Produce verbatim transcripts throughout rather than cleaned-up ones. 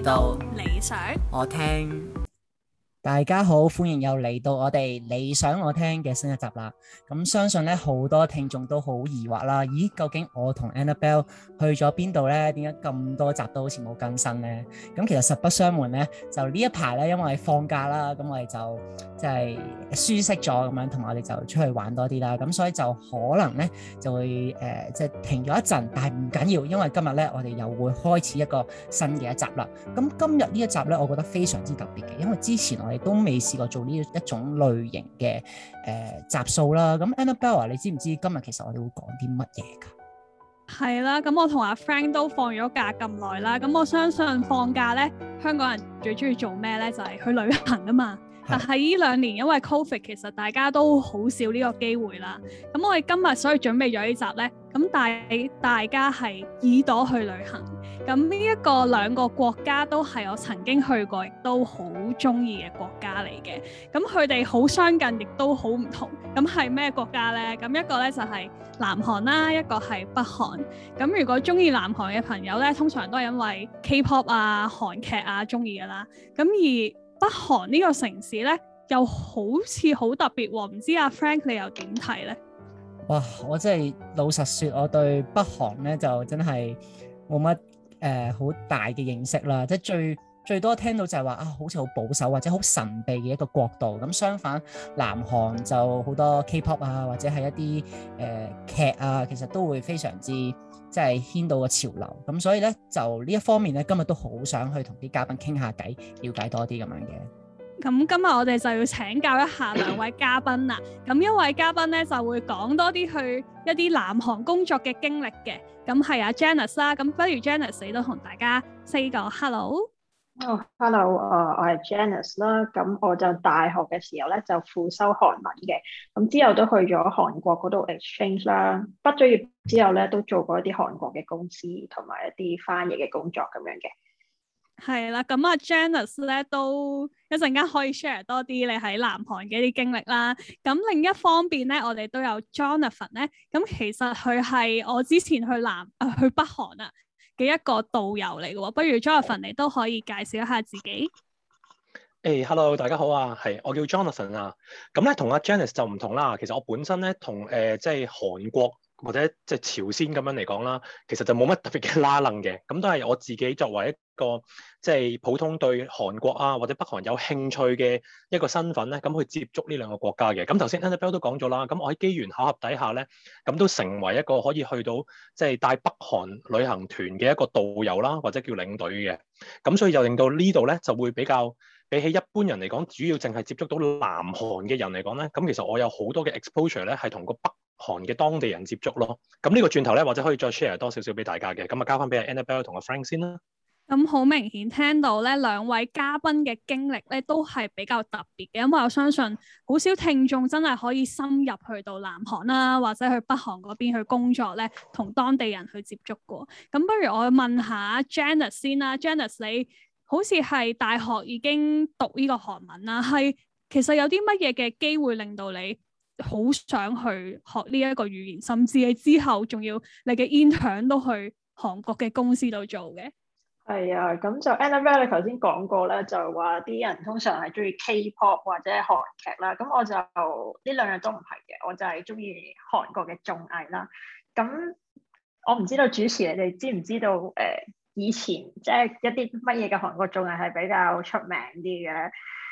嚟到理想我聽。大家好，歡迎又嚟到我哋理想我聽嘅新一集啦。咁相信咧好多聽眾都好疑惑啦，咦，究竟我同 Annabelle 去咗邊度咧？點解咁多集都好似冇更新咧？咁其實實不相瞞咧，就呢一排咧，因為放假啦，咁我哋就即係舒適咗咁樣，同埋我哋就出去玩多啲啦。咁所以就可能咧就會誒即係停咗一陣，但係唔緊要，因為今日咧我哋又會開始一個新嘅一集啦。咁今日呢一集咧，我覺得非常之特別嘅，因為之前我亦都未試過做呢一種類型嘅誒、呃、集數啦。咁 Annabelle， 你知唔知今日其實我哋會講啲乜嘢㗎？ 係啦，咁我同阿 Frank 都放咗假咁耐啦。咁我相信放假咧，香港人最中意做咩咧？就係、是、去旅行啊嘛。但係呢兩年因為 Covid， 其實大家都好少呢個機會啦。咁我哋今日所以準備咗呢集咧，咁帶大家係耳朵去旅行。咁呢一個兩個國家都係我曾經去過，亦都好中意嘅國家嚟嘅。咁佢哋好相近，亦都好唔同。咁係咩國家呢？咁一個咧就係南韓啦，一個係北韓。咁如果中意南韓嘅朋友咧，通常都係因為 K-pop 啊、韓劇啊中意噶啦。咁而北韓呢個城市咧，又好似好特別喎。唔知阿 Frank 你又點睇呢？ 哇！我真係老實說，我對北韓咧就真係冇乜誒好大嘅認識啦。即係最最多聽到就係話啊，好似好保守或者好神秘嘅一個國度。咁相反，南韓就好多 K-pop 啊，或者係一啲誒、呃、劇啊，其實都會非常之即係牽到個潮流。咁所以咧，就呢一方面咧，今日都好想去同啲嘉賓傾下偈，了解多啲咁樣嘅。 咁今日我哋就要請教一下兩位嘉賓啦。咁一位嘉賓咧就會講多啲去一啲南韓工作嘅經歷嘅。咁係阿 Janice 啦。咁不如 Janice 你都同大家 say 個 hello。 哦、oh，hello，誒、uh，我係 Janice 啦。咁我就大學嘅時候咧就輔修韓文嘅。咁之後都去咗韓國嗰度 exchange 啦。畢咗業之後咧都做過一啲韓國嘅公司同埋一啲翻譯嘅工作咁樣嘅。 係啦，咁啊 Janice 咧都一陣間可以 share 多啲你喺南韓嘅一啲經歷啦。咁另一方面咧，我哋都有 Jonathan 咧。咁其實佢係我之前去南啊去北韓啊嘅一個導遊嚟嘅喎。不如 Jonathan 你都可以介紹一下自己。 誒、hey，hello， 大家好啊，係我叫 Jonathan 啊。咁咧同阿 Janice 就唔同啦。其實我本身咧同誒即係韓國或者即係朝鮮咁樣嚟講啦，其實就冇乜特別嘅拉楞嘅。咁都係我自己作為一個即係普通對韓國啊或者北韓有興趣嘅一個身份咧，咁去接觸呢兩個國家嘅。咁頭先 Annabelle 都講咗啦，咁我喺機緣巧合底下咧，咁都成為一個可以去到即係帶北韓旅行團嘅一個導遊啦，或者叫領隊嘅。咁所以就令到呢度咧就會比較比起一般人嚟講，主要淨係接觸到南韓嘅人嚟講咧，咁其實我有好多嘅 exposure 咧係同個北韓嘅當地人接觸咯。咁呢個轉頭咧，或者可以再 share 多少少俾大家嘅。咁啊交翻俾 Annabelle 同阿 Frank 先啦。 咁好明顯聽到咧，兩位嘉賓嘅經歷咧都係比較特別嘅，因為我相信好少聽眾真係可以深入去到南韓啦，或者去北韓嗰邊去工作咧，同當地人去接觸過。咁不如我問下 Janice 先啦。Janice 你好似係大學已經讀呢個韓文啦，係其實有啲乜嘢嘅機會令到你好想去學呢一個語言，甚至你之後仲要你嘅 intern 都去韓國嘅公司度做嘅？ 係啊，咁就 Annabelle 你頭先講過咧，就話啲人通常係中意 K-pop 或者韓劇啦。咁我就呢兩樣都唔係嘅，我就係中意韓國嘅綜藝啦。咁我唔知道主持你哋知唔知道誒、呃，以前即係一啲乜嘢嘅韓國綜藝係比較出名啲嘅？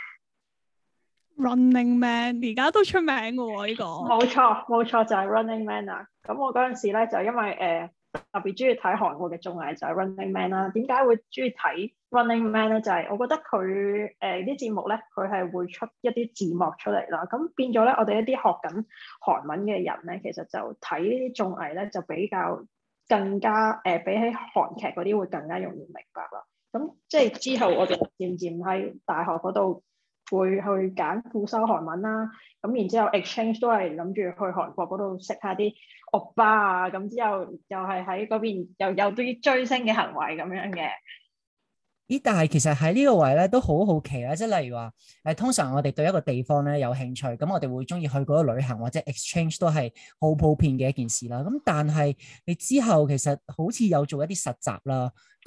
Running Man 而家都出名嘅喎，呢個冇錯冇錯就係 Running Man 啊！咁我嗰陣時咧就因為誒、呃、特別中意睇韓國嘅綜藝就係 Running Man 啦。點解會中意睇 Running Man 咧？就係、是、我覺得佢誒啲節目咧，佢係會出一啲字幕出嚟啦。咁變咗咧，我哋一啲學緊韓文嘅人咧，其實就睇呢啲綜藝咧，就比較更加誒、呃、比起韓劇嗰啲會更加容易明白啦。咁即係之後我哋漸漸喺大學嗰度會去揀輔修韓文啦，咁然之後 exchange 都係諗住去韓國嗰度識下啲歐巴啊，咁之後又係喺嗰邊又有啲追星嘅行為咁樣嘅。 咦，但係其實喺呢個位咧都好好奇啦，即係例如話誒，通常我哋對一個地方咧有興趣，咁我哋會中意去嗰度旅行或者 exchange 都係好普遍嘅一件事啦。咁但係你之後其實好似有做一啲實習啦，咁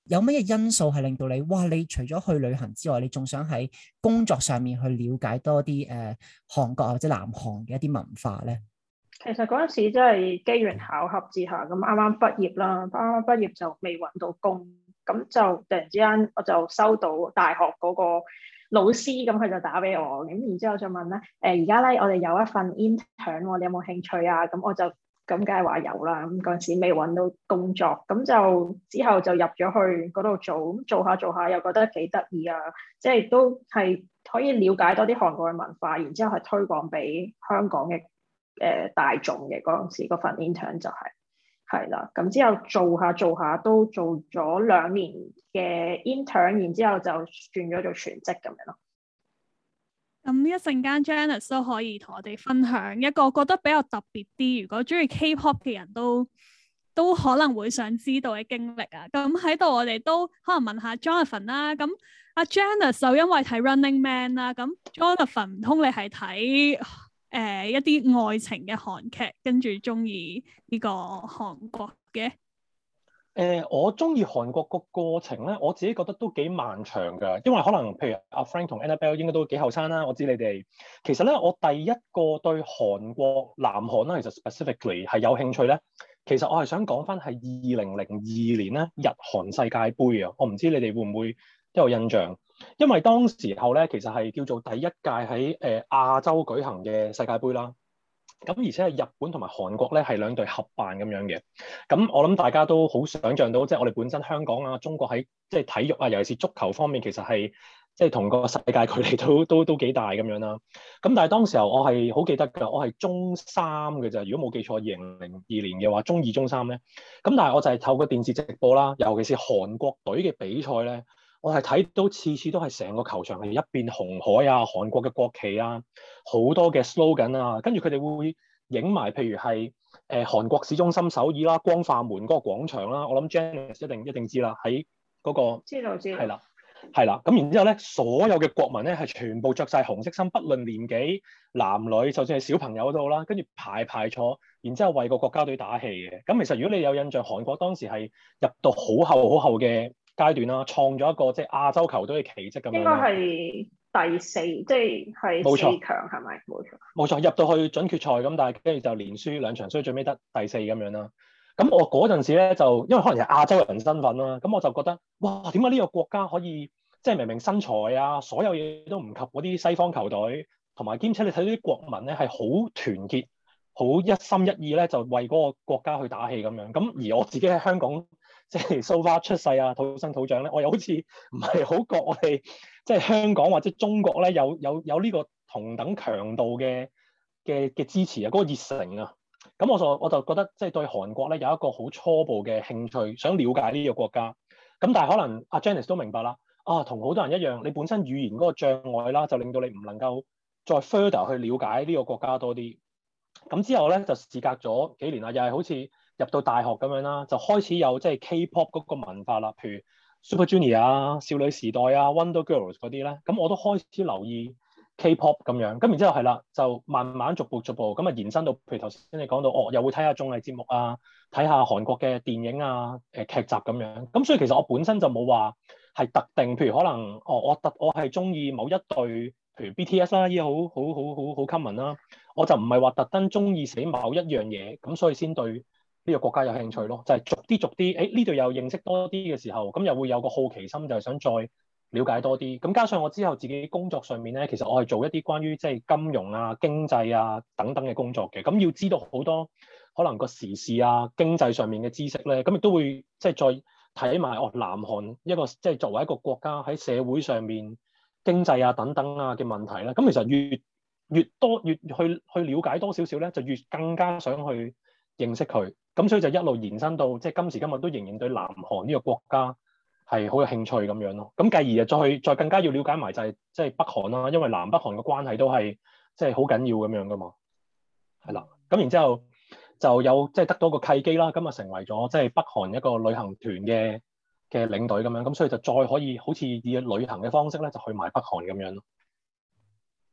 有乜嘢因素係令到你，哇！你除咗去旅行之外，你仲想喺工作上面去了解多啲誒、呃、韓國或者南韓嘅一啲文化咧？ 其實嗰陣時真係機緣巧合之下，咁啱啱畢業啦，啱啱畢業就未揾到工，咁就突然之間我就收到大學嗰個老師，咁佢就打俾我，咁然之後就問咧，誒而家咧我哋有一份 intern，你有冇興趣啊？咁我就。咁梗係話有啦，咁嗰陣時未揾到工作，咁就之後就入咗去嗰度做，咁做下做下又覺得幾得意啊，即係都係可以了解多啲韓國嘅文化，然之後係推廣俾香港嘅誒、呃、大眾嘅嗰陣時嗰份 intern 就係係啦，咁之後做下做下都做咗兩年嘅 intern，然之後就轉咗做全職咁樣咯。 咁一陣間 Janice 都可以同我哋分享一個覺得比較特別啲，如果中意 K-pop 嘅人都都可能會想知道嘅經歷啊。咁喺度我哋都可能問下 Jonathan 啦。咁阿 Janice 就因為睇 Running Man 啦，咁 Jonathan 唔通你係睇誒一啲愛情嘅韓劇，跟住中意呢個韓國嘅？ 誒、呃，我中意韓國個過程咧，我自己覺得都幾漫長㗎，因為可能譬如阿 Frank 同 Annabelle 應該都幾後生啦。我知你哋其實咧，我第一個對韓國南韓啦，其實 specifically 係有興趣咧。其實我係想講翻係二零零二年咧，日韓世界盃啊，我唔知你哋會唔會都有印象，因為當時候咧其實係叫做第一屆喺誒亞洲舉行嘅世界盃啦。咁而且係日本同埋韓國咧係兩隊合辦咁樣嘅，咁我諗大家都好想像到，即係我哋本身香港啊、中國喺即係體育啊，尤其是足球方面，其實係即係同個世界距離都都都幾大咁樣啦。咁但係當時候我係好記得㗎，我係中三嘅咋，如果冇記錯，二零零二年嘅話，中二中三咧。咁但係我就係透過電視直播啦，尤其是韓國隊嘅比賽咧。我係睇到次次都係成個球場係一片紅海啊，韓國嘅國旗啊，好多嘅 slogan 啊，跟住佢哋會影埋，譬如係誒、呃、韓國市中心首爾啦、光化門嗰個廣場啦，我諗 Janice 一定一定知啦，喺嗰、嗰個知道知道係啦係啦，咁然之後咧，所有嘅國民咧係全部着晒紅色衫，不論年紀男女，就算係小朋友都好啦，跟住排排坐，然之後為個國家隊打氣嘅。咁其實如果你有印象，韓國當時係入到好後好後嘅階段啦，創咗一個即係亞洲球隊嘅奇蹟咁樣。應該係第四，即係係四強係咪？冇錯，冇錯， 入到去準決賽咁，但係跟住就連輸兩場，所以最尾得第四咁樣啦。咁我嗰陣時咧就因為可能係亞洲人身份啦，咁我就覺得哇，點解呢個國家可以即係明明身材啊，所有嘢都唔及嗰啲西方球隊，同埋兼且你睇到啲國民咧係好團結、好一心一意咧，就為嗰個國家去打氣咁樣。咁而我自己喺香港。即係 so far 出世啊，土生土長咧，我又好似唔係好覺我哋即係香港或者中國咧有有有呢個同等強度嘅嘅嘅支持啊，嗰、那個熱誠啊，咁我就我就覺得即係對韓國咧有一個好初步嘅興趣，想了解呢個國家。咁但係可能阿 Janice 都明白啦，啊同好多人一樣，你本身語言嗰個障礙啦，就令到你唔能夠再 further 去了解呢個國家多啲。咁之後咧就事隔咗幾年啦，又係好似入到大學咁樣啦，就開始有即係 K-pop 嗰個文化啦，譬如 Super Junior 啊、少女時代啊、Wonder Girls 嗰啲咧，咁我都開始留意 K-pop 咁樣，咁然之後係啦，就慢慢逐步逐步咁啊延伸到，譬如頭先你講到，哦又會睇下綜藝節目啊，睇下韓國嘅電影啊、誒劇集咁樣，咁所以其實我本身就冇話係特定，譬如可能哦我特我係中意某一隊，譬如 B T S 啦，依家好好好好好 common 啦，我就唔係話特登中意死某一樣嘢，咁所以先對呢個國家有興趣咯，就係、是、逐啲逐啲，誒呢度又認識多啲嘅時候，咁又會有個好奇心，就係想再了解多啲。咁加上我之後自己工作上面咧，其實我係做一啲關於即係金融啊、經濟啊等等嘅工作嘅。咁要知道好多可能個時事啊、經濟上面嘅知識咧，咁亦都會即係再睇埋哦南韓一個即係作為一個國家喺社會上面經濟啊等等啊嘅問題咧。咁其實越越多越去去了解多少少咧，就越更加想去認識佢。咁所以就一路延伸到即係今時今日都仍然對南韓呢個國家係好有興趣咁樣咯。咁繼而就再去再更加要了解埋就係即係北韓啦，因為南北韓嘅關係都係即係好緊要咁樣噶嘛。係啦，咁然之後就有即係得到個契機啦，咁啊成為咗即係北韓一個旅行團嘅嘅領隊咁樣。咁所以就再可以好似以旅行嘅方式咧，就去埋北韓咁樣咯。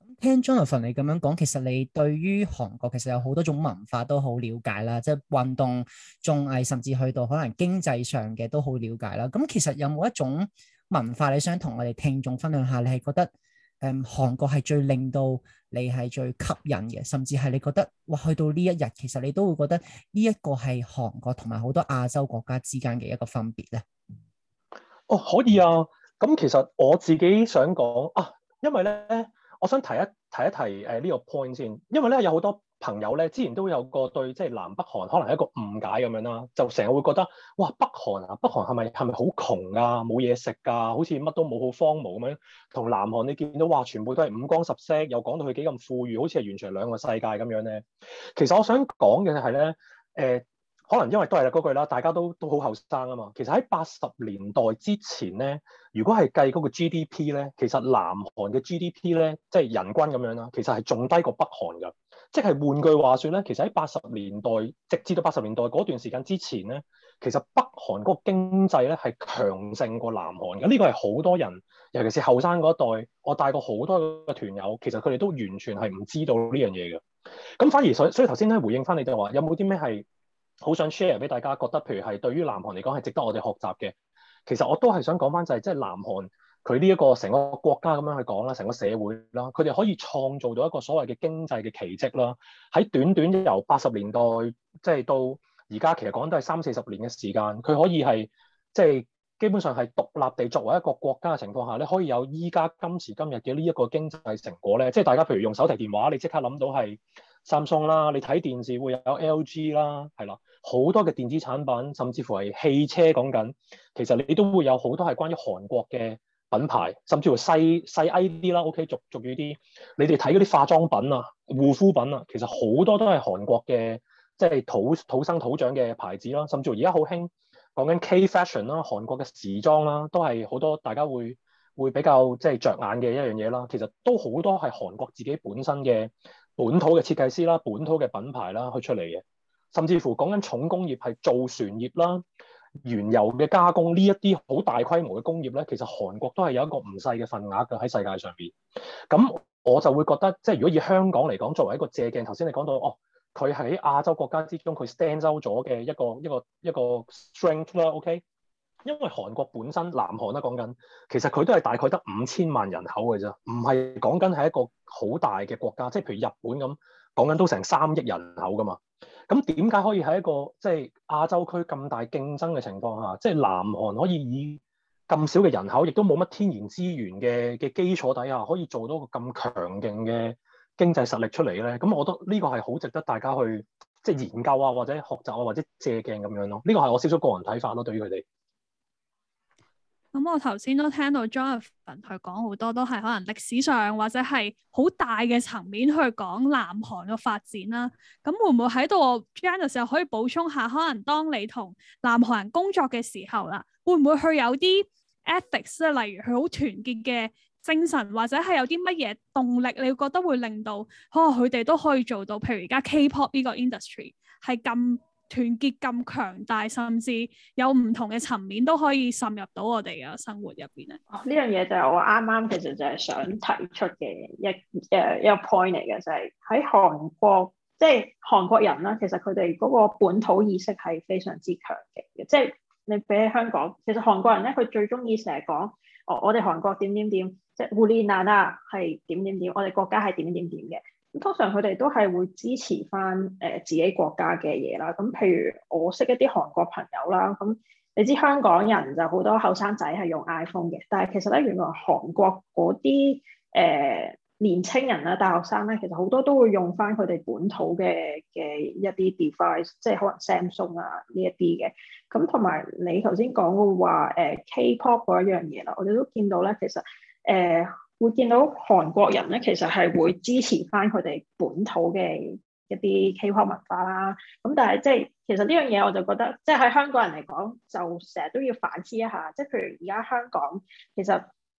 聽 Jonathan 你咁樣講，其實你對於韓國其實有好多種文化都好了解啦，即係運動、綜藝，甚至去到可能經濟上嘅都好了解啦。咁其實有冇一種文化你想同我哋聽眾分享下？你係覺得誒、嗯、韓國係最令到你係最吸引嘅，甚至係你覺得哇去到呢一日，其實你都會覺得呢一個係韓國同埋好多亞洲國家之間嘅一個分別咧？ 哦，可以啊。咁其實我自己想講啊，因為咧。我想提一提一提誒呢、呃這個 point 先，因為咧有好多朋友咧之前都有個對即係南北韓可能係一個誤解咁樣啦，就成日會覺得哇北韓啊，北韓係咪係咪好窮啊，冇嘢食㗎，好似乜都冇，好荒蕪咁樣。同南韓你見到哇，全部都係五光十色，又講到佢幾咁富裕，好似係完全係兩個世界咁樣咧。其實我想講嘅係咧，誒、呃。可能因為都係嗰句啦，大家都都好後生啊嘛。其實喺八十年代之前咧，如果係計嗰個 G D P 咧，其實南韓嘅 G D P 咧，即係人均咁樣啦，其實係仲低過北韓㗎。即係換句話說咧，其實喺八十年代，直至到八十年代嗰段時間之前咧，其實北韓嗰個經濟咧係強盛過南韓嘅。呢個係好多人，尤其是後生嗰一代，我帶過好多嘅團友，其實佢哋都完全係唔知道呢樣嘢嘅。咁反而所以所以頭先咧回應翻你就話，有冇啲咩係好想 share 俾大家，覺得譬如係對於南韓嚟講係值得我哋學習嘅。其實我都係想講翻就係、是，即係南韓佢呢一個成個國家咁樣去講啦，成個社會啦，佢哋可以創造到一個所謂嘅經濟嘅奇蹟啦。喺短短由八十年代即係到而家，其實講都係三四十年嘅時間，佢可以係即係基本上係獨立地作為一個國家嘅情況下咧，可以有依家今時今日嘅呢一個經濟成果咧。即係大家譬如用手提電話，你即刻諗到係Samsung啦，你睇電視會有 L G 啦，係啦，好多嘅電子產品，甚至乎係汽車講緊，其實你都會有好多係關於韓國嘅品牌，甚至乎細細 I D 啦，OK，俗俗語啲，你哋睇嗰啲化妝品啊、護膚品啊，其實好多都係韓國嘅，即係土土生土長嘅牌子啦，甚至乎而家好興講緊 K fashion 啦，韓國嘅時裝啦，都係好多大家會會比較即係着眼嘅一樣嘢啦。其實都好多係韓國自己本身嘅本土嘅設計師啦、本土嘅品牌啦去出嚟嘅，甚至乎講緊重工業係造船業啦、原油嘅加工呢一啲好大規模嘅工業咧，其實韓國都係有一個唔細嘅份額嘅喺世界上邊。咁我就會覺得，即係如果以香港嚟講，作為一個借鏡，頭先你講到哦，佢喺亞洲國家之中佢 stand out 咗嘅一個一個一個 strength 啦 ，OK。因為韓國本身南韓啦講緊，其實佢都係大概得五千萬人口嘅啫，唔係講緊係一個好大嘅國家，即係譬如日本咁講緊都成三億人口噶嘛。咁點解可以喺一個即係亞洲區咁大競爭嘅情況下，即係南韓可以以咁少嘅人口，亦都冇乜天然資源嘅嘅基礎底下，可以做到個咁強勁嘅經濟實力出嚟咧？咁我覺得呢個係好值得大家去即係研究啊，或者學習啊，或者借鏡咁樣咯。呢個係我少少個人睇法咯，對於佢哋。 咁我頭先都聽到 Jonathan 佢講好多都係可能歷史上或者係好大嘅層面去講南韓嘅發展啦。咁會唔會喺度 Janice 又可以補充下，可能當你同南韓人工作嘅時候啦，會唔會去有啲 ethics 咧，例如佢好團結嘅精神，或者係有啲乜嘢動力，你覺得會令到可能佢哋都可以做到，譬如而家 K-pop 呢個 industry 係咁團結咁強大，甚至有唔同嘅層面都可以滲入到我哋嘅生活入邊咧。 呢樣嘢就係我啱啱其實就係想提出嘅一誒一個 point 嚟嘅，就係喺韓國，即係韓國人啦，其實佢哋嗰個本土意識係非常之強嘅。即係你比起香港，其實韓國人咧，佢最中意成日講，哦，我哋韓國點點點，即係烏哩難啊，係點點點，我哋國家係點點點嘅。通常佢哋都係會支持翻誒自己國家嘅嘢啦。咁譬如我識一啲韓國朋友啦，咁你知香港人就好多後生仔係用 iPhone 嘅，但係其實咧原來韓國嗰啲誒年青人啦、大學生咧，其實好多都會用翻佢哋本土嘅嘅一啲 device，即係可能 Samsung 啊呢一啲嘅。咁同埋你頭先講嘅話誒 K-pop 嗰一樣嘢啦，我哋都見到咧，其實誒。呃會見到韓國人咧，其實係會支持翻佢哋本土嘅一啲 K-pop 文化啦。咁但係即係其實呢樣嘢，我就覺得即係喺香港人嚟講，就成日都要反思一下。即係譬如而家香港，其實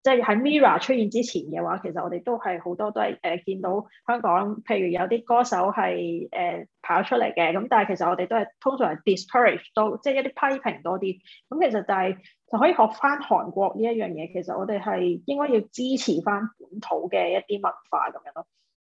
即係喺 Mirror 出現之前嘅話，其實我哋都係好多都係誒、呃、見到香港，譬如有啲歌手係誒、呃、跑出嚟嘅，咁但係其實我哋都係通常係 discourage 多，即係一啲批評多啲。咁其實就係、是、就可以學翻韓國呢一樣嘢，其實我哋係應該要支持翻本土嘅一啲文化咁樣咯。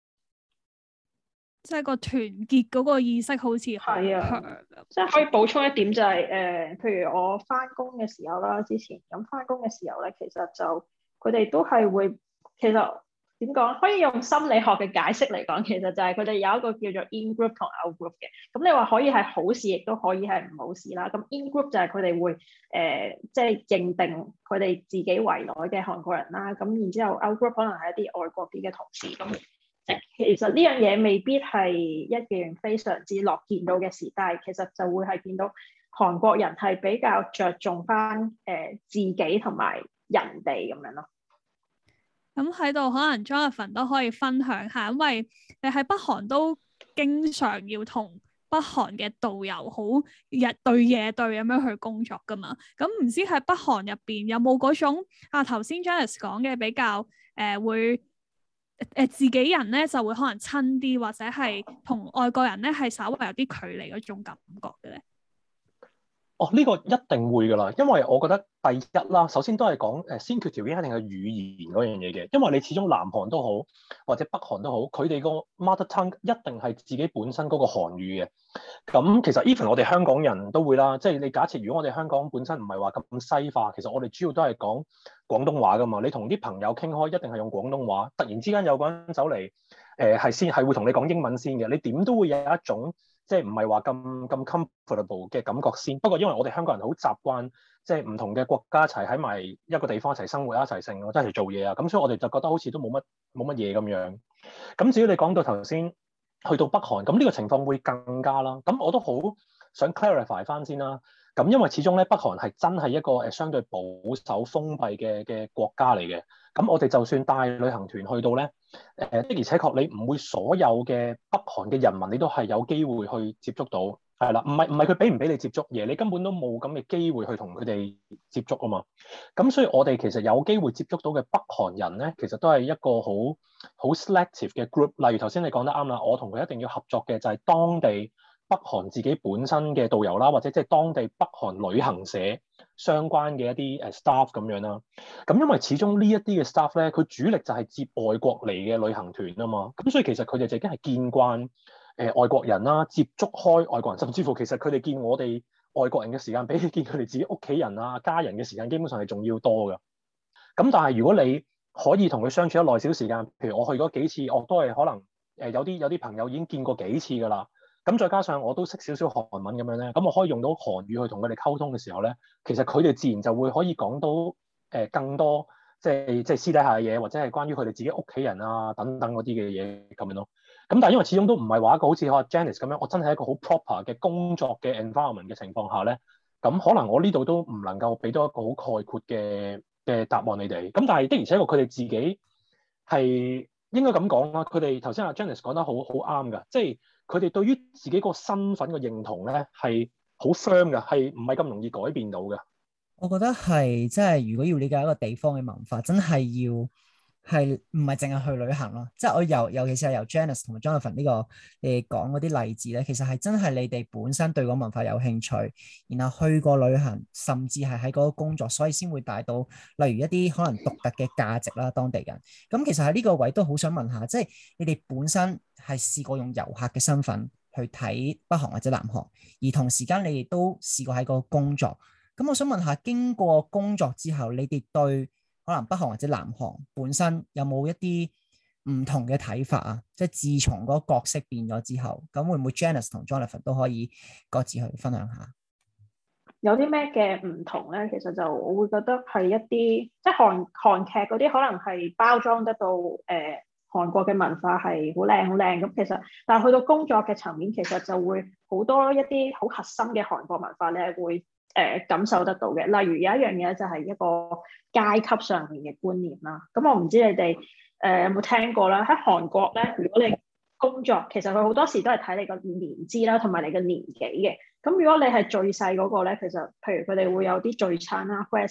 即係個團結嗰個意識好似係啊， 即係可以補充一點就係、是、誒、呃，譬如我翻工嘅時候啦，之前咁翻工嘅時候咧，其實就佢哋都係會，其實點講，可以用心理學嘅解釋嚟講，其實就係佢哋有一個叫做 in group 同 out group 嘅。咁你話可以係好事，亦都可以係唔好事啦。咁 in group 就係佢哋會誒，即、呃、係、就是、認定佢哋自己圍內嘅韓國人啦。咁然之後 out group 可能係一啲外國啲嘅同事。咁其實呢樣嘢未必係一件非常之樂見到嘅事，但係其實就會係見到韓國人係比較着重翻誒、呃、自己同埋人哋咁樣咯。 咁喺度可能 Jonathan 都可以分享下，因為你喺北韓都經常要同北韓嘅導遊好日對夜對咁樣去工作噶嘛。咁唔知喺北韓入邊有冇嗰種啊頭先 Janice 講嘅比較誒、呃、會誒、呃、自己人咧就會可能親啲，或者係同外國人咧係稍微有啲距離嗰種感覺嘅咧？ 哦，呢、這個一定會㗎啦，因為我覺得第一啦，首先都係講誒先決條件一定係語言嗰樣嘢嘅，因為你始終南韓都好或者北韓都好，佢哋個 mother tongue 一定係自己本身嗰個韓語嘅。咁其實 even 我哋香港人都會啦，即係你假設如果我哋香港本身唔係話咁西化，其實我哋主要都係講廣東話㗎嘛。你同啲朋友傾開一定係用廣東話，突然之間有個人走嚟誒係先係會同你講英文先嘅，你點都會有一種。即係唔係話咁咁 comfortable 嘅感覺先，不過因為我哋香港人好習慣，即係唔同嘅國家一齊喺埋一個地方一齊生活一齊成，或者一齊做嘢啊，咁所以我哋就覺得好似都冇乜冇乜嘢咁樣。咁至於你講到頭先去到北韓，咁呢個情況會更加啦。咁我都好想 clarify 翻先啦。咁因為始終咧北韓係真係一個誒相對保守封閉嘅嘅國家嚟嘅。咁我哋就算帶旅行團去到咧，誒的而且確你唔會所有嘅北韓嘅人民你都係有機會去接觸到，係啦，唔係唔係佢俾唔俾你接觸嘢，你根本都冇咁嘅機會去同佢哋接觸啊嘛。咁所以我哋其實有機會接觸到嘅北韓人咧，其實都係一個好好 selective 嘅 group。例如頭先你講得啱啦，我同佢一定要合作嘅就係當地北韓自己本身嘅導遊啦，或者即係當地北韓旅行社相關嘅一啲誒 staff 咁樣啦。咁因為始終呢一啲嘅 staff 咧，佢主力就係接外國嚟嘅旅行團啊嘛。咁所以其實佢哋就已經係見慣誒、呃、外國人啦，接觸開外國人，甚至乎其實佢哋見我哋外國人嘅時間，比起見佢哋自己屋企人啊家人嘅時間，基本上係仲要多㗎。咁但係如果你可以同佢相處一耐少時間，譬如我去嗰幾次，我都係可能誒、呃、有啲有啲朋友已經見過幾次㗎啦。咁再加上我都識少少韓文咁樣咧，咁我可以用到韓語去同佢哋溝通嘅時候咧，其實佢哋自然就會可以講到誒、呃、更多即係即係私底下嘅嘢，或者係關於佢哋自己屋企人啊等等嗰啲嘅嘢咁樣咯。咁但係因為始終都唔係話一個好似阿 Janice 咁樣，我真係一個好 proper 嘅工作嘅 environment 嘅情況下咧，咁可能我呢度都唔能夠俾到一個好概括嘅嘅答案你哋。咁但係的而且確佢哋自己係應該咁講啦。佢哋頭先阿 Janice 講得好好啱㗎，即係。佢哋對於自己個身份嘅認同咧係好 firm 嘅，係唔係咁容易改變到嘅？ 我覺得係，即係如果要理解一個地方嘅文化，真係要係唔係淨係去旅行咯？即係我由尤其是係由 Janice 同埋 Jonathan 呢個你講嗰啲例子咧，其實係真係你哋本身對個文化有興趣，然後去過旅行，甚至係喺嗰個工作，所以先會帶到例如一啲可能獨特嘅價值啦，當地人。咁其實喺呢個位都好想問下，即係你哋本身係試過用遊客嘅身份去睇北韓或者南韓，而同時間你哋都試過喺個工作。咁我想問下，經過工作之後，你哋對可能北韓或者南韓本身有冇一啲唔同嘅睇法啊？即係自從嗰個角色變咗之後，咁會唔會 Janice 同 Jonathan 都可以各自去分享下？ 有啲咩嘅唔同咧？其實就我會覺得係一啲即係韓韓劇嗰啲，可能係包裝得到誒、呃、韓國嘅文化係好靚好靚咁。其實但係去到工作嘅層面，其實就會好多一啲好核心嘅韓國文化咧會。誒、呃、感受得到嘅，例如有一樣嘢就係一個階級上面嘅觀念啦。咁我唔知你哋誒、呃、有冇聽過啦？喺韓國咧，如果你工作，其實佢好多時都係睇你個年資啦，同埋你嘅年紀嘅。咁如果你係最細嗰個咧，其實譬如佢哋會有啲聚餐啦 （Hwashik），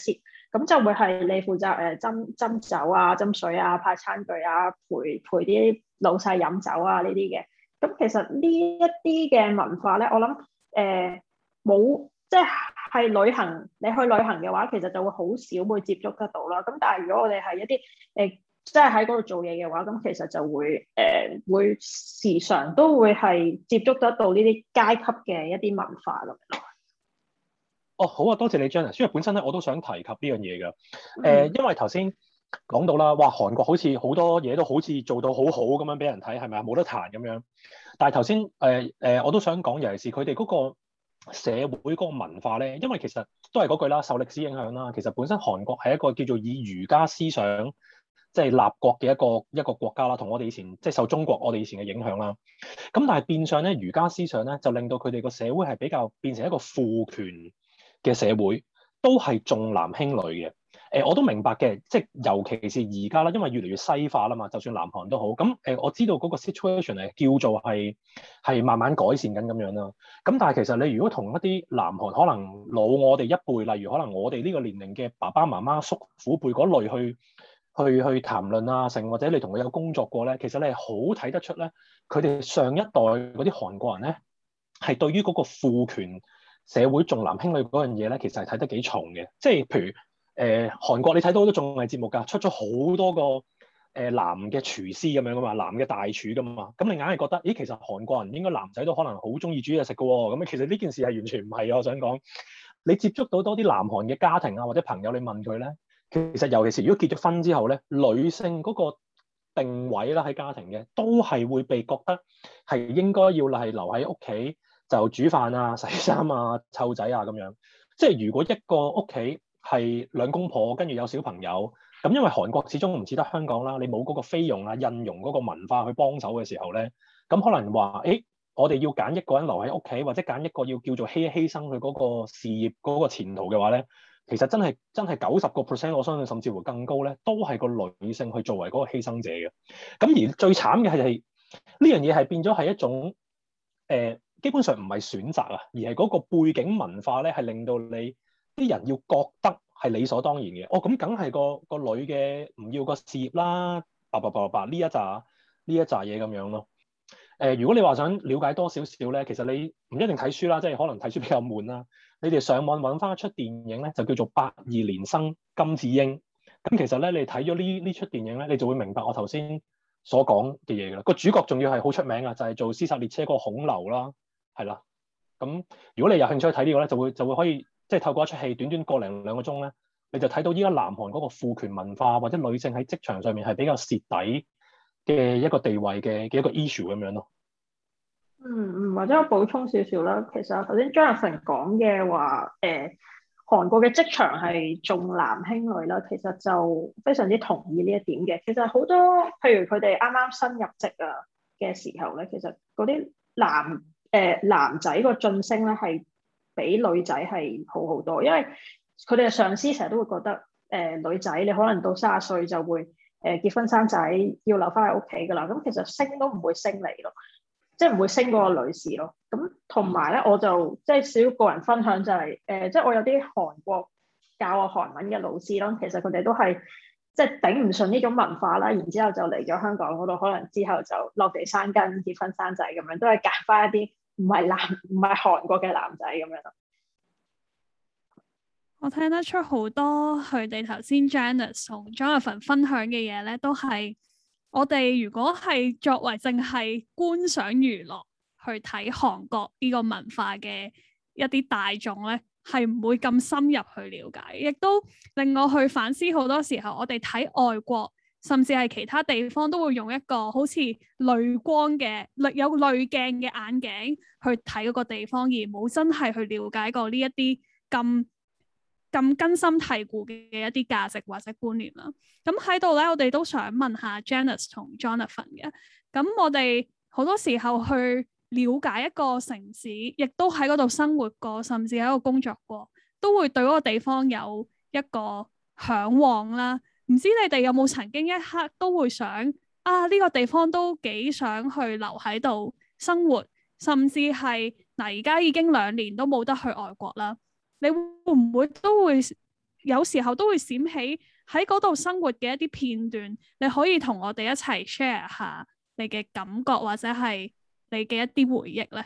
咁就會係你負責誒斟斟酒啊、斟水啊、派餐具啊、陪陪啲老細飲酒啊呢啲嘅。咁其實呢一啲嘅文化咧，我諗誒冇即係係旅行，你去旅行嘅話，其實就會好少會接觸得到啦。咁但係如果我哋係一啲誒、呃、即係喺嗰度做嘢嘅話，咁其實就會誒、呃、會時常都會係接觸得到呢啲階級嘅一啲文化咯。 哦，好啊，多謝你 Janice， 因為本身咧我都想提及呢樣嘢㗎。誒、 嗯呃，因為頭先講到啦，哇，韓國好似好多嘢都好似做到好好咁樣俾人睇，係咪啊？冇得彈咁樣。但係頭先誒誒，我都想講，尤其是佢哋嗰個社會嗰個文化咧，因為其實都係嗰句啦，受歷史影響啦。其實本身韓國係一個叫做以儒家思想即係立國嘅一個一個國家啦，同我哋以前即係受中國我哋以前嘅影響啦。咁但係變相咧，儒家思想咧就令到佢哋個社會係比較變成一個父權嘅社會，都係重男輕女嘅。誒、呃，我都明白嘅，即係尤其是而家啦，因為越嚟越西化啦嘛，就算南韓都好。咁誒、呃，我知道嗰個 situation 係叫做係係慢慢改善緊咁樣啦。咁但係其實你如果同一啲南韓可能老我哋一輩，例如可能我哋呢個年齡嘅爸爸媽媽、叔父輩嗰類去去去談論啊，成或者你同佢有工作過咧，其實你係好睇得出咧，佢哋上一代嗰啲韓國人咧係對於嗰個父權社會重男輕女嗰樣嘢咧，其實係睇得幾重嘅。即係譬如。誒、呃、韓國你睇到好多綜藝節目㗎，出咗好多個誒、呃、男嘅廚師咁樣㗎嘛，男嘅大廚㗎嘛，咁你硬係覺得，咦，其實韓國人應該男仔都可能好中意煮嘢食㗎喎，咁其實呢件事係完全唔係啊！我想講，你接觸到多啲南韓嘅家庭啊或者朋友，你問佢咧，其實尤其是如果結咗婚之後咧，女性嗰個定位啦喺家庭嘅，都係會被覺得係應該要係留喺屋企就煮飯啊、洗衫啊、湊仔啊咁樣。即係如果一個屋企係兩公婆，跟住有小朋友，咁因為韓國始終唔似得香港啦，你冇嗰個菲傭啊、印傭嗰個文化去幫手嘅時候咧，咁可能話，誒，我哋要揀一個人留喺屋企，或者揀一個要叫做犧犧牲佢嗰個事業嗰個前途嘅話咧，其實真係真係九十個 percent， 我相信甚至乎更高咧，都係個女性去作為嗰個犧牲者嘅。咁而最慘嘅係呢樣嘢係變咗係一種誒、呃，基本上唔係選擇啊，而係嗰個背景文化咧，係令到你啲人要覺得係理所當然嘅。哦，咁梗係個個女嘅唔要個事業啦，叭叭叭叭呢一紮呢一紮嘢咁樣咯。誒、呃，如果你話想了解多少少咧，其實你唔一定睇書啦，即係可能睇書比較悶啦。你哋上網揾翻一出電影咧，就叫做《八二年生金智英》。咁其實咧，你睇咗呢呢出電影咧，你就會明白我頭先所講嘅嘢㗎啦。個主角仲要係好出名啊，就係、是、做《屍殺列車》嗰個孔劉啦，係啦。咁如果你有興趣睇呢個咧，就會就會可以。即係透過一出戲，短短個零兩個鐘咧，你就睇到依家南韓嗰個父權文化，或者女性喺職場上面係比較蝕底嘅一個地位嘅嘅一個 issue 咁樣咯。 嗯嗯，或者我補充少少啦。其實頭先 Jonathan 講嘅話，誒、呃、韓國嘅職場係重男輕女啦，其實就非常之同意呢一點嘅。其實好多譬如佢哋啱啱新入職啊嘅時候咧，其實嗰啲男誒、呃、男仔個晉升咧係比女仔係好好多，因為佢哋嘅上司成日都會覺得，誒、呃、女仔你可能到三十歲就會誒、呃、結婚生仔，要留翻喺屋企噶啦。咁其實升都唔會升你咯，即係唔會升嗰個女士咯。咁同埋咧，我就即係少個人分享就係、是，誒、呃、即係我有啲韓國教我韓文嘅老師啦，其實佢哋都係即係頂唔順呢種文化啦，然之後就嚟咗香港嗰度，可能之後就落地生根、結婚生仔咁樣，都係揀翻一啲唔係男唔係韓國嘅男仔咁樣咯。 我聽得出好多佢哋頭先 Janice 同 Jonathan 分享嘅嘢咧，都係我哋如果係作為淨係觀賞娛樂去睇韓國呢個文化嘅一啲大眾咧，係唔會咁深入去了解，亦都令我去反思好多時候我哋睇外國甚至係其他地方都會用一個好似濾光嘅有濾鏡嘅眼鏡去睇嗰個地方，而冇真係去了解過呢一啲咁咁根深蒂固嘅一啲價值或者觀念啦。咁喺度咧，我哋都想問下 Janice 同 Jonathan 嘅。咁我哋好多時候去了解一個城市，亦都喺嗰度生活過，甚至喺度工作過，都會對嗰個地方有一個嚮往啦。唔知你哋有冇曾經一刻都會想啊，呢個地方都幾想去留喺度生活，甚至係嗱而家已經兩年都冇得去外國啦。你會唔會都會有時候都會閃起喺嗰度生活嘅一啲片段，你可以同我哋一齊 share 下你嘅感覺或者係你嘅一啲回憶咧。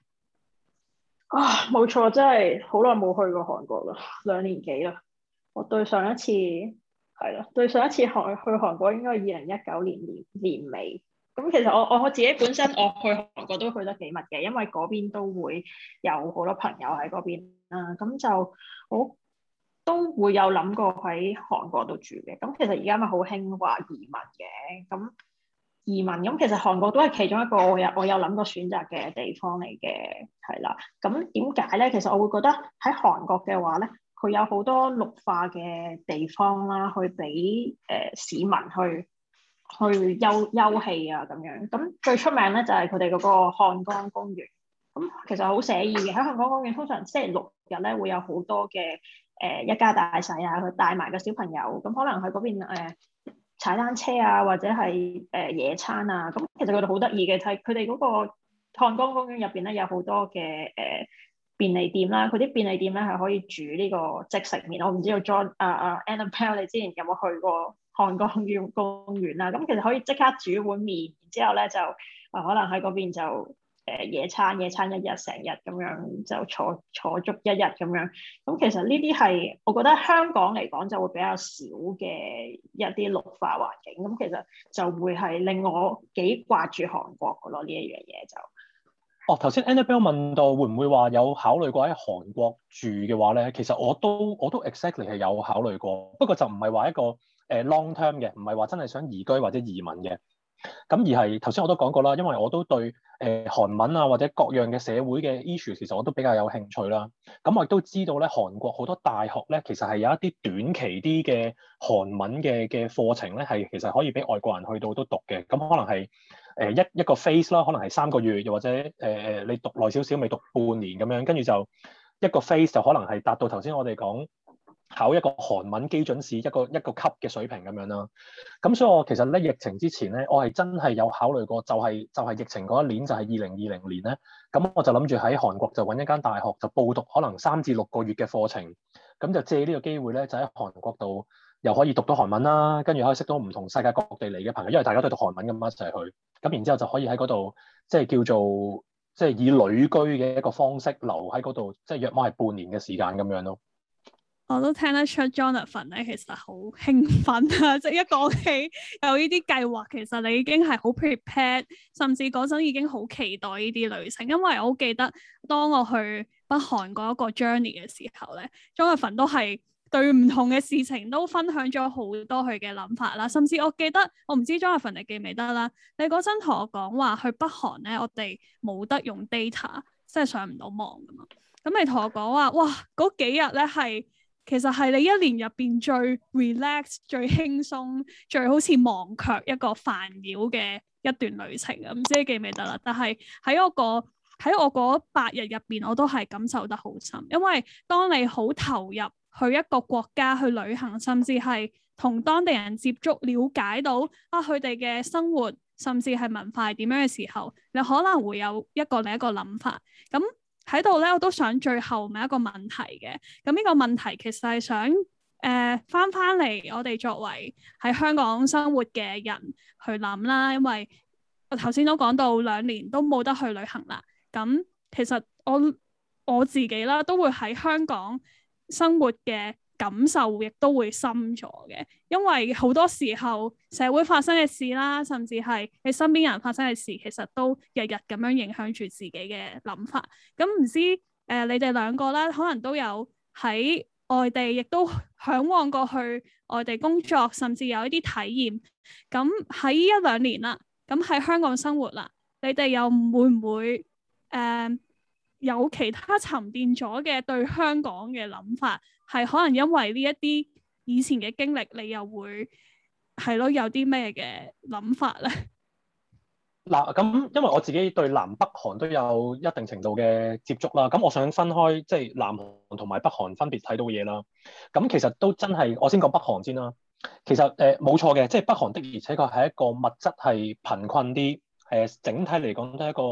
啊，冇錯，真係好耐冇去過韓國啦，兩年幾啦。我對上一次係啦，對上一次韓去韓國應該係二零一九年年年尾。咁其實我我自己本身我去韓國都去得幾密嘅，因為嗰邊都會有好多朋友喺嗰邊啦。咁就我都會有諗過喺韓國度住嘅。咁其實而家咪好興話移民嘅，咁。移民咁，其實韓國都係其中一個我有我有諗過選擇嘅地方嚟嘅，係啦。咁點解咧？其實我會覺得喺韓國嘅話咧，佢有好多綠化嘅地方啦，去俾誒、呃、市民去去休休憩啊咁樣。咁最出名咧就係佢哋嗰個漢江公園。咁其實好寫意嘅，喺漢江公園通常星期六日咧會有好多嘅誒、呃、一家大細啊，去帶埋個小朋友。咁可能喺嗰邊誒。呃踩單車啊，或者係誒、呃、野餐啊，咁其實佢哋好得意嘅，睇佢哋嗰個漢江公園入邊咧有好多嘅誒、呃、便利店啦，佢啲便利店咧係可以煮呢個即食麵。我唔知道 John 啊啊 Annabelle 你之前有冇去過漢江公園啦？咁其實可以即刻煮碗麵，然之後咧就啊可能喺嗰邊就。誒野餐野餐一日成日咁樣就坐坐足一日咁樣，咁其實呢啲係我覺得香港嚟講就會比較少嘅一啲綠化環境，咁其實就會係令我幾掛住韓國嘅咯，呢一樣嘢就。 哦，頭先 Annabelle 問到會唔會話有考慮過喺韓國住嘅話咧，其實我都我都 exactly 係有考慮過，不過就唔係話一個誒 long term 嘅，唔係話真係想移居或者移民嘅。咁而係頭先我都講過啦，因為我都對誒、呃、韓文啊或者各樣嘅社會嘅 issue 其實我都比較有興趣啦。咁我亦都知道咧，韓國好多大學咧其實係有一啲短期啲嘅韓文嘅嘅課程咧，係其實可以俾外國人去到都讀嘅。咁可能係誒、呃、一一個 phase 啦，可能係三個月，又或者誒誒、呃、你讀耐少少，未讀半年咁樣，跟住就一個 phase 就可能係達到頭先我哋講。考一個韓文基準試一個一個級嘅水平咁樣啦，咁所以我其實咧疫情之前咧，我係真係有考慮過，就係、是、就係、是、疫情嗰一年就係二零二零年咧，咁我就諗住喺韓國就揾一間大學就報讀可能三至六個月嘅課程，咁就借呢個機會咧就喺韓國度又可以讀到韓文啦，跟住可以識到唔同世界各地嚟嘅朋友，因為大家都係讀韓文咁一齊去，咁然之後就可以喺嗰度即係叫做即係、就是、以旅居嘅一個方式留喺嗰度，即係約莫係半年嘅時間咁樣咯。 我都聽得出 Jonathan 咧，其實好興奮啊！即係一講起有呢啲計劃，其實你已經係好 prepared，甚至嗰陣已經好期待呢啲旅程。因為我好記得當我去北韓嗰一個 journey 嘅時候咧，Jonathan 都係對唔同嘅事情都分享咗好多佢嘅諗法啦。甚至我記得，我唔知 Jonathan 你記唔記得啦？你嗰陣同我講話去北韓咧，我哋冇得用 data，即係上唔到網噶嘛。咁你同我講話，哇！嗰幾日咧係〜其實係你一年入邊最 relax、最輕鬆、最好似忘卻一個煩擾嘅一段旅程啊！唔知你記唔記得啦？但係喺我個喺我嗰八日入邊，我都係感受得好深，因為當你好投入去一個國家去旅行，甚至係同當地人接觸、了解到啊佢哋嘅生活，甚至係文化係點樣嘅時候，你可能會有一個另一個諗法咁。喺度咧，我都想最後問一個問題嘅。咁呢個問題其實係想誒翻翻嚟，我哋作為喺香港生活嘅人去諗啦。因為我頭先都講到兩年都冇得去旅行啦。咁其實我我自己啦，都會喺香港生活嘅感受亦都會深咗嘅，因為好多時候社會發生嘅事啦，甚至係你身邊人發生嘅事，其實都日日咁樣影響住自己嘅諗法。咁唔知誒、呃，你哋兩個啦，可能都有喺外地，亦都嚮往過去外地工作，甚至有一啲體驗。咁喺呢一兩年啦，咁喺香港生活啦，你哋又會唔會誒、呃、有其他沉澱咗嘅對香港嘅諗法？係可能因為呢一啲以前嘅經歷，你又會係咯，有啲咩嘅諗法咧？ 嗱，咁因為我自己對南北韓都有一定程度嘅接觸啦，咁我想分開即係南韓同埋北韓分別睇到嘢啦。咁其實都真係，我先講北韓先啦。其實誒冇錯嘅，即係北韓的而且確係一個物質係貧困啲，誒整體嚟講都係一個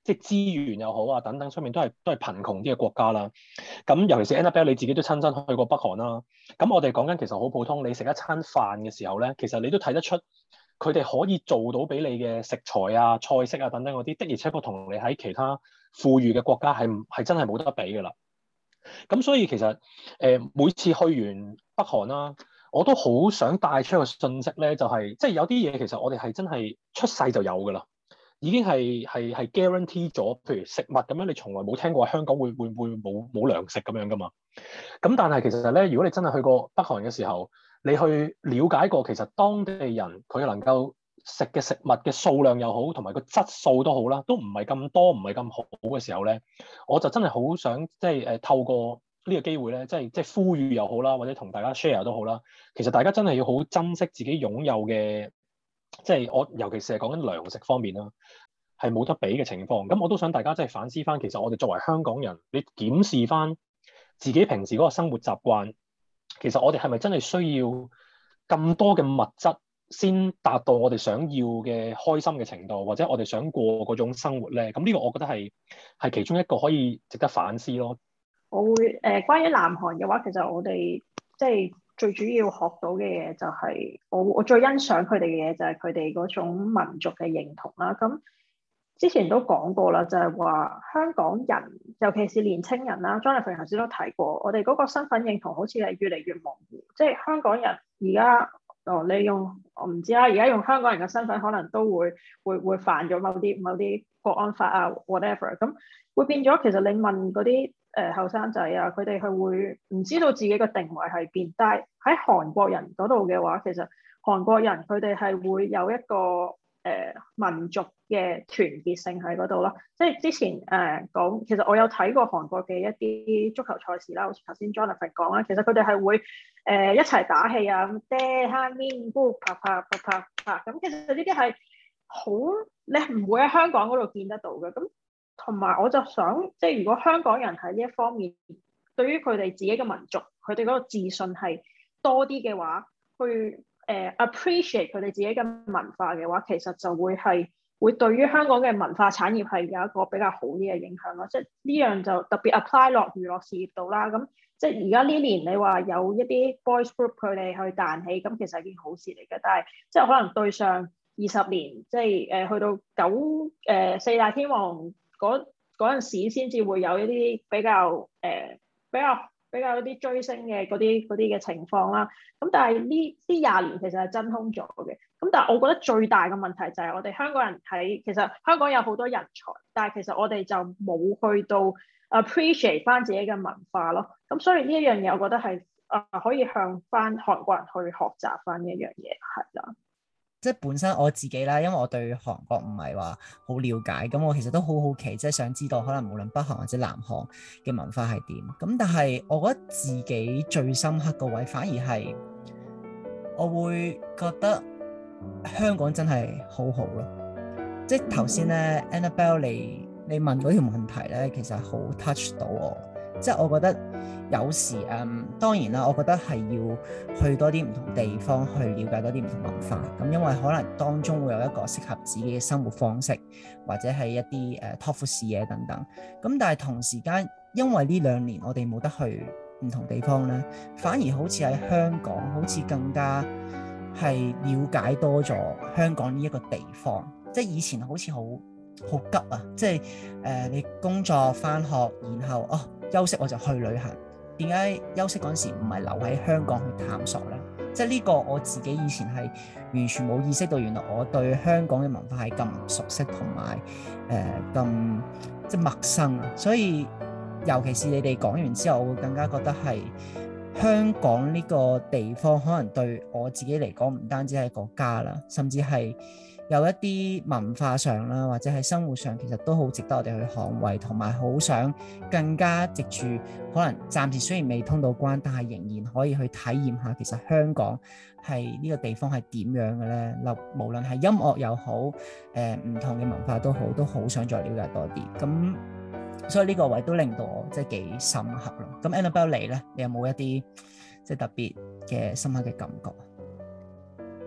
即係資源又好啊等等，上面都係都係貧窮啲嘅國家啦。咁尤其是 Annabelle 你自己都親身去過北韓啦。咁我哋講緊其實好普通，你食一餐飯嘅時候咧，其實你都睇得出佢哋可以做到俾你嘅食材啊、菜式啊等等嗰啲，的而且確同你喺其他富裕嘅國家係係真係冇得比㗎啦。咁所以其實誒、呃、每次去完北韓啦，我都好想帶出一個訊息咧，就係即係有啲嘢其實我哋係真係出世就有㗎啦，已經係係係 guarantee 咗。譬如食物咁樣，你從來冇聽過香港會會會冇冇糧食咁樣㗎嘛。咁但係其實咧，如果你真係去過北韓嘅時候，你去了解過其實當地人佢能夠食嘅食物嘅數量又好，同埋個質素都好啦，都唔係咁多，唔係咁好嘅時候咧，我就真係好想即係誒透過呢個機會咧，即係即係呼籲又好啦，或者同大家 share 都好啦。其實大家真係要好珍惜自己擁有嘅，即係我尤其是係講緊糧食方面啦，係冇得比嘅情況。咁我都想大家即係反思翻，其實我哋作為香港人，你檢視翻自己平時嗰個生活習慣，其實我哋係咪真係需要咁多嘅物質先達到我哋想要嘅開心嘅程度，或者我哋想過嗰種生活咧？咁呢個我覺得係係其中一個可以值得反思咯。 我會誒、呃、關於南韓嘅話，其實我哋即係最主要學到嘅嘢就係、是、我我最欣賞佢哋嘅嘢就係佢哋嗰種民族嘅認同啦。咁之前都講過啦，就係、是、話香港人，尤其是年青人啦 ，Jonathan 頭先都提過，我哋嗰個身份認同好似係越嚟越模糊。即係香港人而家哦，你用我唔知啦，而家用香港人嘅身份，可能都會會會犯咗某啲某啲國安法啊 whatever，咁會變咗。其實你問嗰啲誒後生仔啊，佢哋係會唔知道自己嘅定位係邊。但係喺韓國人嗰度嘅話，其實韓國人佢哋係會有一個誒、呃、民族嘅團結性喺嗰度咯。即係之前誒講、呃，其實我有睇過韓國嘅一啲足球賽事啦，好似頭先 Jonathan 講啦，其實佢哋係會誒、呃、一齊打氣啊，咁爹哈面姑啪啪啪啪啪咁。其實呢啲係好你唔會喺香港嗰度見得到嘅。咁同埋我就想，即係如果香港人喺呢一方面，對於佢哋自己嘅民族，佢哋嗰個自信係多啲嘅話，去誒、呃、appreciate 佢哋自己嘅文化嘅話，其實就會係會對於香港嘅文化產業係有一個比較好啲嘅影響咯。即係呢樣就特別 apply 落娛樂事業度啦。咁即係而家呢年你話有一啲 boys group 佢哋去彈起，咁其實係件好事嚟嘅。但係即係可能對上二十年，即係誒、呃、去到九誒、呃、四大天王。嗰嗰陣時先至會有一啲比較誒、呃、比較比較一啲追星嘅嗰啲嗰啲嘅情況啦。咁但係呢呢廿年其實係真空咗嘅。咁但係我覺得最大嘅問題就係我哋香港人喺其實香港有好多人才，但係其實我哋就冇去到 appreciate 翻自己嘅文化咯。咁所以呢一樣嘢，我覺得係啊、呃、可以向翻韓國人去學習翻呢一樣嘢，係啦。 即係本身我自己啦，因為我對韓國唔係話好了解，咁我其實都好好奇，即係想知道可能無論北韓或者南韓嘅文化係點。咁但係我覺得自己最深刻個位反而係我會覺得香港真係好好咯。即係頭先咧 Annabelle 你你問嗰條問題咧，其實好 touch 到我。即係我覺得有時誒、嗯，當然啦，我覺得係要去多啲唔同地方去了解多啲唔同文化。咁因為可能當中會有一個適合自己嘅生活方式，或者係一啲誒拓闊視野等等。咁但係同時間，因為呢兩年我哋冇得去唔同地方咧，反而好似喺香港，好似更加係了解多咗香港呢一個地方。即係以前好似好好急啊！即係誒、呃，你工作返學，然後哦。休息我就去旅行，點解休息嗰陣時唔係留喺香港去探索呢？即係呢個我自己以前係完全冇意識到，原來我對香港嘅文化係咁唔熟悉同埋誒咁即係陌生啊！所以尤其是你哋講完之後，我會更加覺得係香港呢個地方可能對我自己嚟講唔單止係個家啦，甚至係有一啲文化上啦，或者係生活上，其實都好值得我哋去捍衛，同埋好想更加藉住可能暫時雖然未通到關，但係仍然可以去體驗下其實香港係呢個地方係點樣嘅咧。無論係音樂又好，誒、呃、唔同嘅文化都好，都好想再了解多啲。咁所以呢個位都令到我即係幾深刻咯。咁 Annabelle 你咧，你有冇一啲即係特別嘅深刻嘅感覺？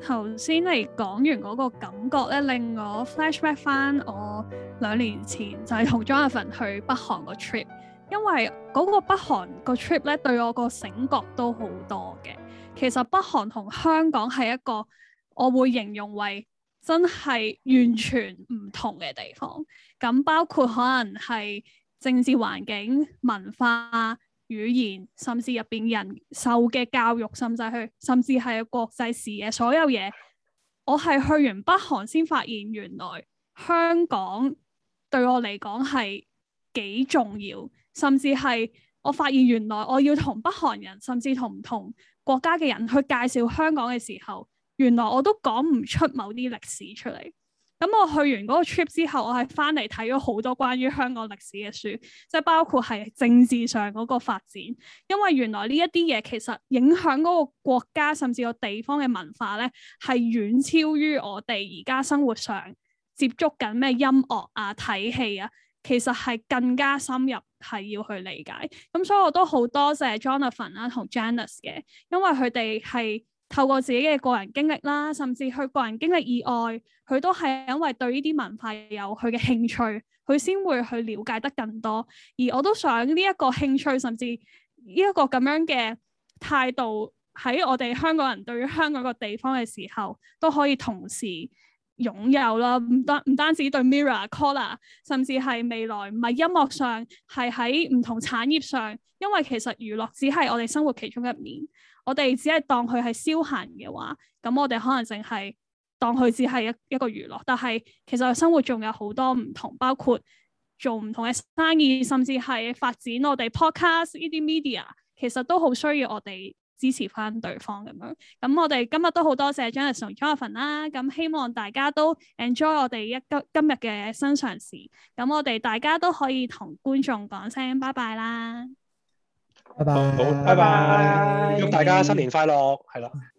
頭先你講完嗰個感覺咧，令我 flashback 翻我兩年前就係同 Jonathan 去北韓個 trip，因為嗰個北韓個 trip 咧對我個醒覺都好多嘅。其實北韓同香港係一個我會形容為真係完全唔同嘅地方，咁包括可能係政治環境、文化、語言，甚至入邊人受嘅教育，甚至係甚至係國際視野，所有嘢，我係去完北韓先發現，原來香港對我嚟講係幾重要，甚至係我發現原來我要同北韓人，甚至同唔同國家嘅人去介紹香港嘅時候，原來我都講唔出某啲歷史出嚟。咁我去完嗰個 trip 之後，我係翻嚟睇咗好多關於香港歷史嘅書，即係包括係政治上嗰個發展，因為原來呢一啲嘢其實影響嗰個國家甚至個地方嘅文化咧，係遠超於我哋而家生活上接觸緊咩音樂啊、睇戲啊，其實係更加深入係要去理解。咁所以我都好多謝 Jonathan 啦同 Janice 嘅，因為佢哋係透過自己嘅個人經歷啦，甚至佢個人經歷以外，佢都係因為對呢啲文化有佢嘅興趣，佢先會去了解得更多。而我都想呢一個興趣，甚至呢一個咁樣嘅態度，喺我哋香港人對於香港個地方嘅時候，都可以同時擁有啦。唔單唔單止對 Mirror、Collar， 甚至係未來唔係音樂上，係喺唔同產業上，因為其實娛樂只係我哋生活其中一面。我哋只係當佢係消閒嘅話，咁我哋可能淨係當佢只係一一個娛樂。但係其實生活仲有好多唔同，包括做唔同嘅生意，甚至係發展我哋 podcast 呢啲 media， 其實都好需要我哋支持翻對方咁樣。咁我哋今日都好多謝 Janice 同 Jonathan 啦。咁希望大家都 enjoy 我哋一今今日嘅新嘗試。咁我哋大家都可以同觀眾講聲拜拜啦。 拜拜， 好，拜拜，祝大家新年快樂，係啦。